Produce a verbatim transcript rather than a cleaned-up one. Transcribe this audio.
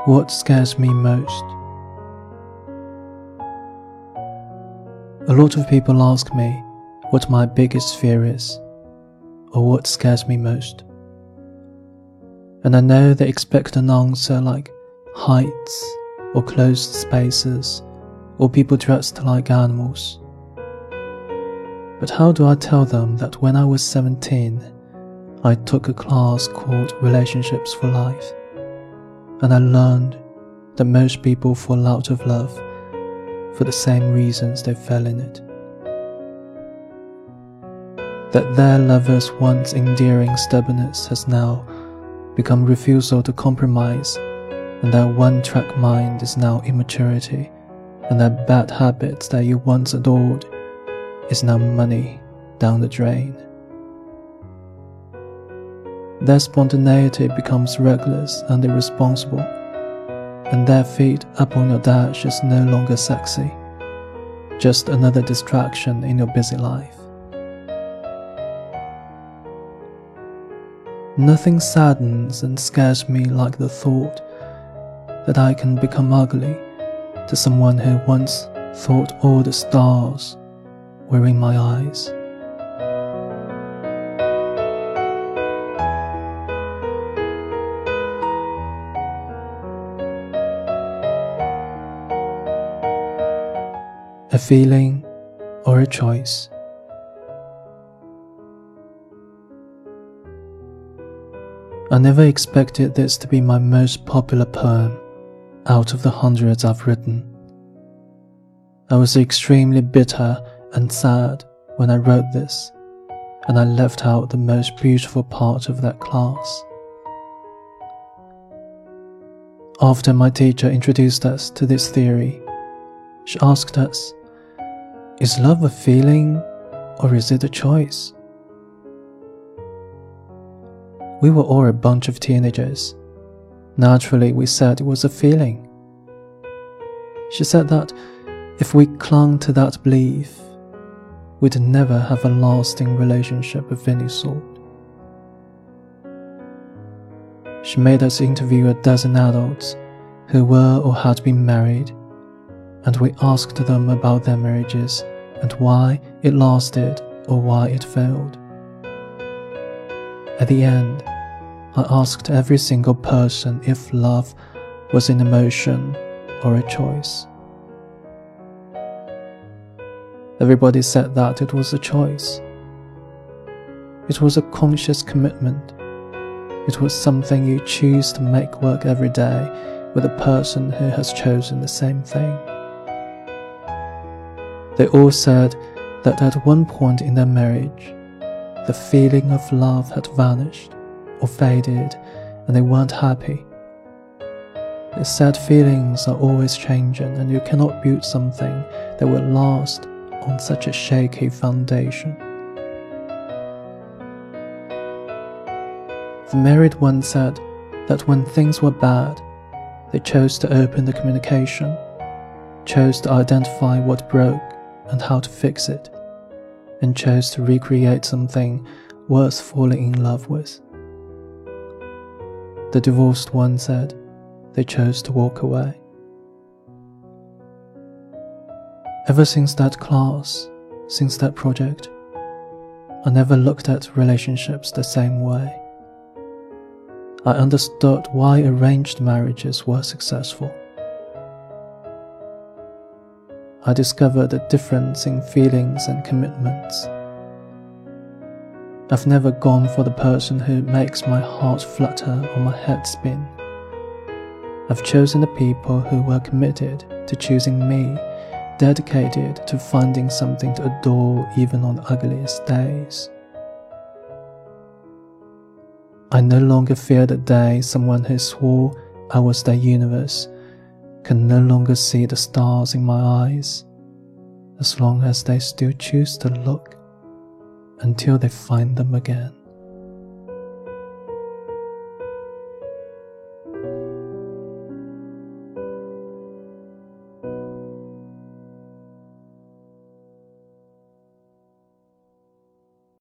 What scares me most? A lot of people ask me what my biggest fear is, or what scares me most. And I know they expect an answer like heights, or closed spaces, or people dressed like animals. But how do I tell them that when I was seventeen, I took a class called Relationships for Life, and I learned that most people fall out of love for the same reasons they fell in it. That their lover's once endearing stubbornness has now become refusal to compromise, and their one-track mind is now immaturity, and their bad habits that you once adored is now money down the drain. Their spontaneity becomes reckless and irresponsible, and their feet up on your dash is no longer sexy, just another distraction in your busy life. Nothing saddens and scares me like the thought that I can become ugly to someone who once thought all the stars were in my eyes. A feeling or a choice. I never expected this to be my most popular poem out of the hundreds I've written. I was extremely bitter and sad when I wrote this, and I left out the most beautiful part of that class. After my teacher introduced us to this theory, she asked us, "Is love a feeling or is it a choice?" We were all a bunch of teenagers. Naturally, we said it was a feeling. She said that if we clung to that belief, we'd never have a lasting relationship of any sort. She made us interview a dozen adults who were or had been married, and we asked them about their marriages and why it lasted or why it failed. At the end, I asked every single person if love was an emotion or a choice. Everybody said that it was a choice. It was a conscious commitment. It was something you choose to make work every day with a person who has chosen the same thing. They all said that at one point in their marriage, the feeling of love had vanished or faded, and they weren't happy. They said feelings are always changing, and you cannot build something that will last on such a shaky foundation. The married one said that when things were bad, they chose to open the communication, chose to identify what broke and how to fix it, and chose to recreate something worth falling in love with. The divorced one said they chose to walk away. Ever since that class, since that project, I never looked at relationships the same way. I understood why arranged marriages were successful. I discovered the difference in feelings and commitments. I've never gone for the person who makes my heart flutter or my head spin. I've chosen the people who were committed to choosing me, dedicated to finding something to adore even on the ugliest days. I no longer fear the day someone who swore I was their universe can no longer see the stars in my eyes, as long as they still choose to look until they find them again.